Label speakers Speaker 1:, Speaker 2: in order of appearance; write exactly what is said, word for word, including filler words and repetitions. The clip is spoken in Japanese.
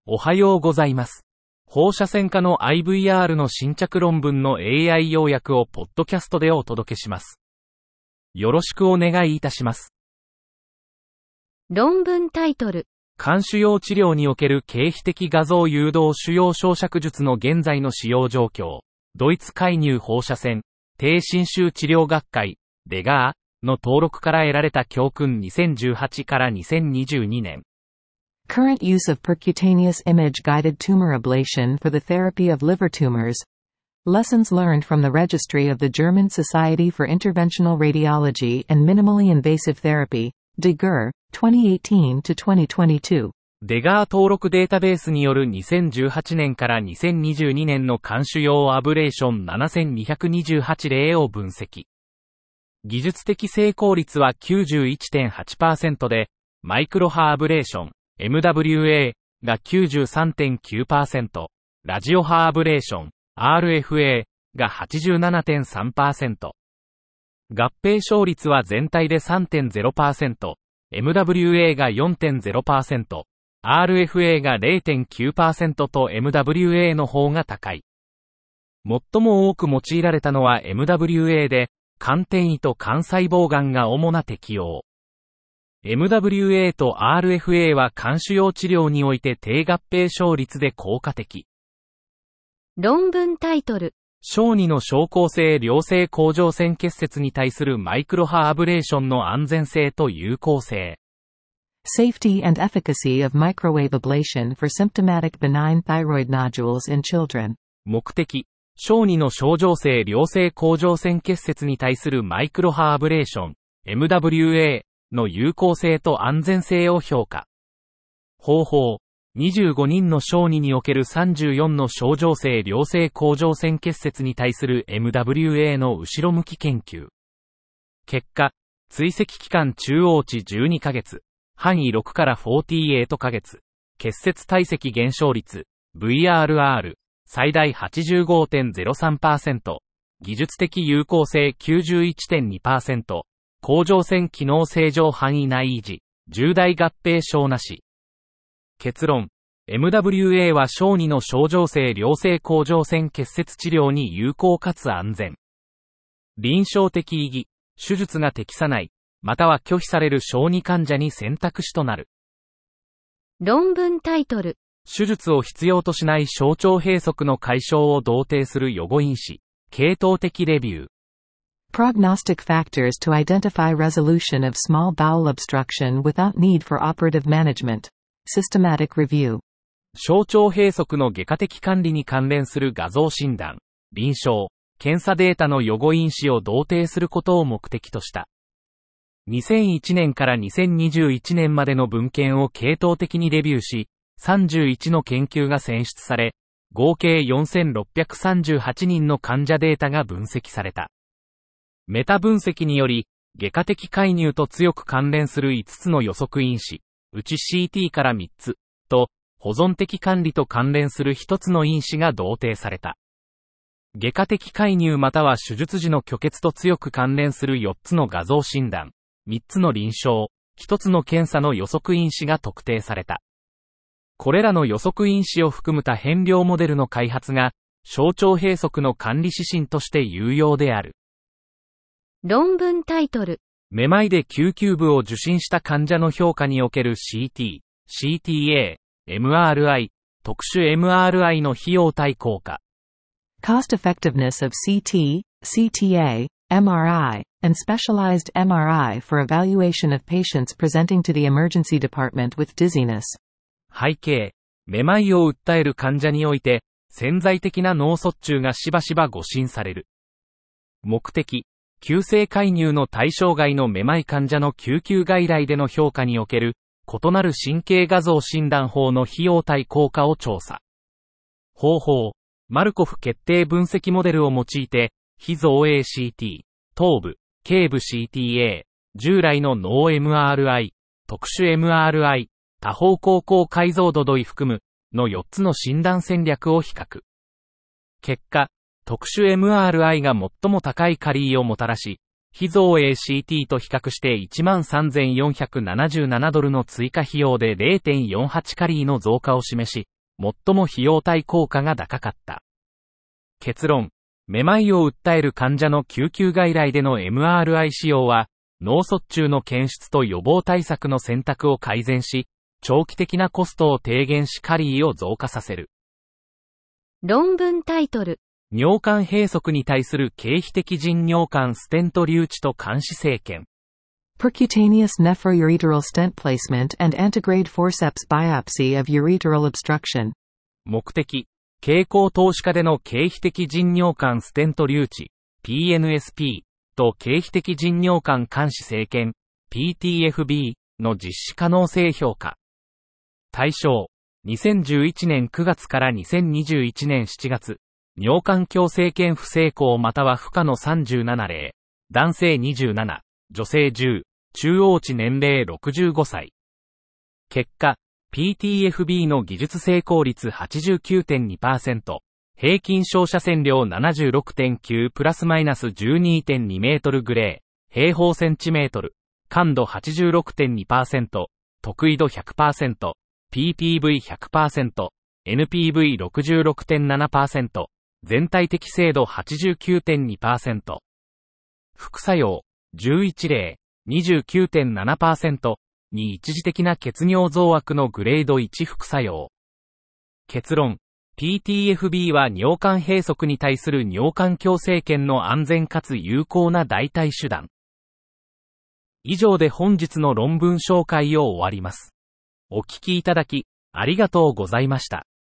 Speaker 1: おはようございます。放射線科の アイブイアール の新着論文の エーアイ 要約をポッドキャストでお届けします。よろしくお願いいたします。
Speaker 2: 論文タイトル。
Speaker 1: 肝腫瘍治療における経皮的画像誘導腫瘍焼灼術の現在の使用状況。ドイツ介入放射線、低侵襲治療学会、デガーの登録から得られた教訓にせんじゅうはちからにせんにじゅうにねん。
Speaker 3: Current use of percutaneous image-guided tumor ablation for the therapy of liver tumors. Lessons learned from the registry of the German Society for Interventional Radiology and Minimally Invasive Therapy,デガー、twenty eighteen to twenty twenty-two。
Speaker 1: デガー登録データベースによるにせんじゅうはちねんからにせんにじゅうにねんの肝腫瘍アブレーションななせんにひゃくにじゅうはち例を分析。技術的成功率は きゅうじゅういってんはちパーセント で、マイクロ波アブレーション、エムダブリューエー が きゅうじゅうさんてんきゅうパーセント、ラジオ波アブレーション、アールエフエー が はちじゅうななてんさんパーセント。合併症率は全体で さんてんゼロパーセント、エムダブリューエー が よんてんゼロパーセント、アールエフエー が れいてんきゅうパーセント と エムダブリューエー の方が高い。最も多く用いられたのは エムダブリューエー で、肝転移と肝細胞がんが主な適用。エムダブリューエー と アールエフエー は肝腫瘍治療において低合併症率で効果的。
Speaker 2: 論文タイトル。
Speaker 1: 小児の症候性良性甲状腺結節に対するマイクロ波アブレーションの安全性と有効性。
Speaker 3: Safety and efficacy of microwave ablation for symptomatic benign thyroid nodules in children。
Speaker 1: 目的。小児の症状性良性甲状腺結節に対するマイクロ波アブレーション、エムダブリューエー の有効性と安全性を評価。方法。にじゅうごにんの小児におけるさんじゅうよんの症状性良性甲状腺結節に対する エムダブリューエー の後ろ向き研究。結果、追跡期間中央値じゅうにかげつ、範囲ろくからよんじゅうはちかげつ、結節体積減少率、ブイアールアール、最大 はちじゅうごてんゼロさんパーセント、技術的有効性 きゅうじゅういってんにパーセント、甲状腺機能正常範囲内維持、重大合併症なし。結論。エムダブリューエー は小児の症状性良性甲状腺結節治療に有効かつ安全。臨床的意義、手術が適さない、または拒否される小児患者に選択肢となる。
Speaker 2: 論文タイトル。
Speaker 1: 手術を必要としない小腸閉塞の解消を同定する予後因子、系統的レビュー。
Speaker 3: Prognostic factors to identify resolution of small bowel obstruction without need for operative management. Systematic review。
Speaker 1: 小腸閉塞の外科的管理に関連する画像診断、臨床、検査データの予後因子を同定することを目的とした。にせんいちねんからにせんにじゅういちねんまでの文献を系統的にレビューし、さんじゅういちの研究が選出され、合計よんせんろっぴゃくさんじゅうはちにんの患者データが分析された。メタ分析により、外科的介入と強く関連するいつつの予測因子、うち シーティー からみっつ、と、保存的管理と関連するひとつの因子が同定された。外科的介入または手術時の虚血と強く関連するよっつの画像診断、みっつの臨床、ひとつの検査の予測因子が特定された。これらの予測因子を含む多変量モデルの開発が、小腸閉塞の管理指針として有用である。
Speaker 2: 論文タイトル。
Speaker 1: めまいで救急部を受診した患者の評価における シーティー、シーティーエー、エムアールアイ、特殊 エムアールアイ の費用対効果。
Speaker 3: Cost effectiveness of シーティー、シーティーエー、エムアールアイ, and specialized エムアールアイ for evaluation of patients presenting to the emergency department with dizziness。
Speaker 1: 背景、めまいを訴える患者において、潜在的な脳卒中がしばしば誤診される。目的、急性介入の対象外のめまい患者の救急外来での評価における、異なる神経画像診断法の費用対効果を調査。方法、マルコフ決定分析モデルを用いて、非造影 シーティー、頭部、頸部 シーティーエー、従来の脳 エムアールアイ、特殊 エムアールアイ、多方向高解像度度位含む、のよっつの診断戦略を比較。結果、特殊 エムアールアイ が最も高いカリーをもたらし、非造影 シーティー と比較して いちまんさんぜんよんひゃくななじゅうななドルの追加費用で れいてんよんはち カリーの増加を示し、 最も費用対効果が高かった。結論、めまいを訴える患者の救急外来での エムアールアイ 使用は、脳卒中の検出と予防対策の選択を改善し、長期的なコストを低減しカリーを増加させる。
Speaker 2: 論文タイトル。
Speaker 1: 尿管閉塞に対する経皮的腎尿管ステント留置と監視生検。
Speaker 3: Percutaneous nephroureteral stent placement and antegrade forceps biopsy of ureteral obstruction.
Speaker 1: 目的、経口投資下での経皮的腎尿管ステント留置、ピーエヌエスピー と経皮的腎尿管監視生検、ピーティーエフビー の実施可能性評価。対象、にせんじゅういちねんくがつからにせんにじゅういちねんしちがつ、尿管鏡生検不成功または不可のさんじゅうなな例、男性にじゅうなな、女性じゅう、中央値年齢ろくじゅうごさい。結果、ピーティーエフビー の技術成功率 はちじゅうきゅうてんにパーセント、平均照射線量 ななじゅうろくてんきゅう プラスマイナス じゅうにてんに メートルグレー、平方センチメートル、感度 はちじゅうろくてんにパーセント、特異度 ひゃくパーセント、ピーピーブイひゃくパーセント、エヌピーブイろくじゅうろくてんななパーセント、全体的精度 はちじゅうきゅうてんにパーセント。副作用、じゅういち例、にじゅうきゅうてんななパーセント に一時的な血尿増悪のグレードいち副作用。結論、ピーティーエフビー は尿管閉塞に対する尿管鏡生検の安全かつ有効な代替手段。以上で本日の論文紹介を終わります。お聞きいただき、ありがとうございました。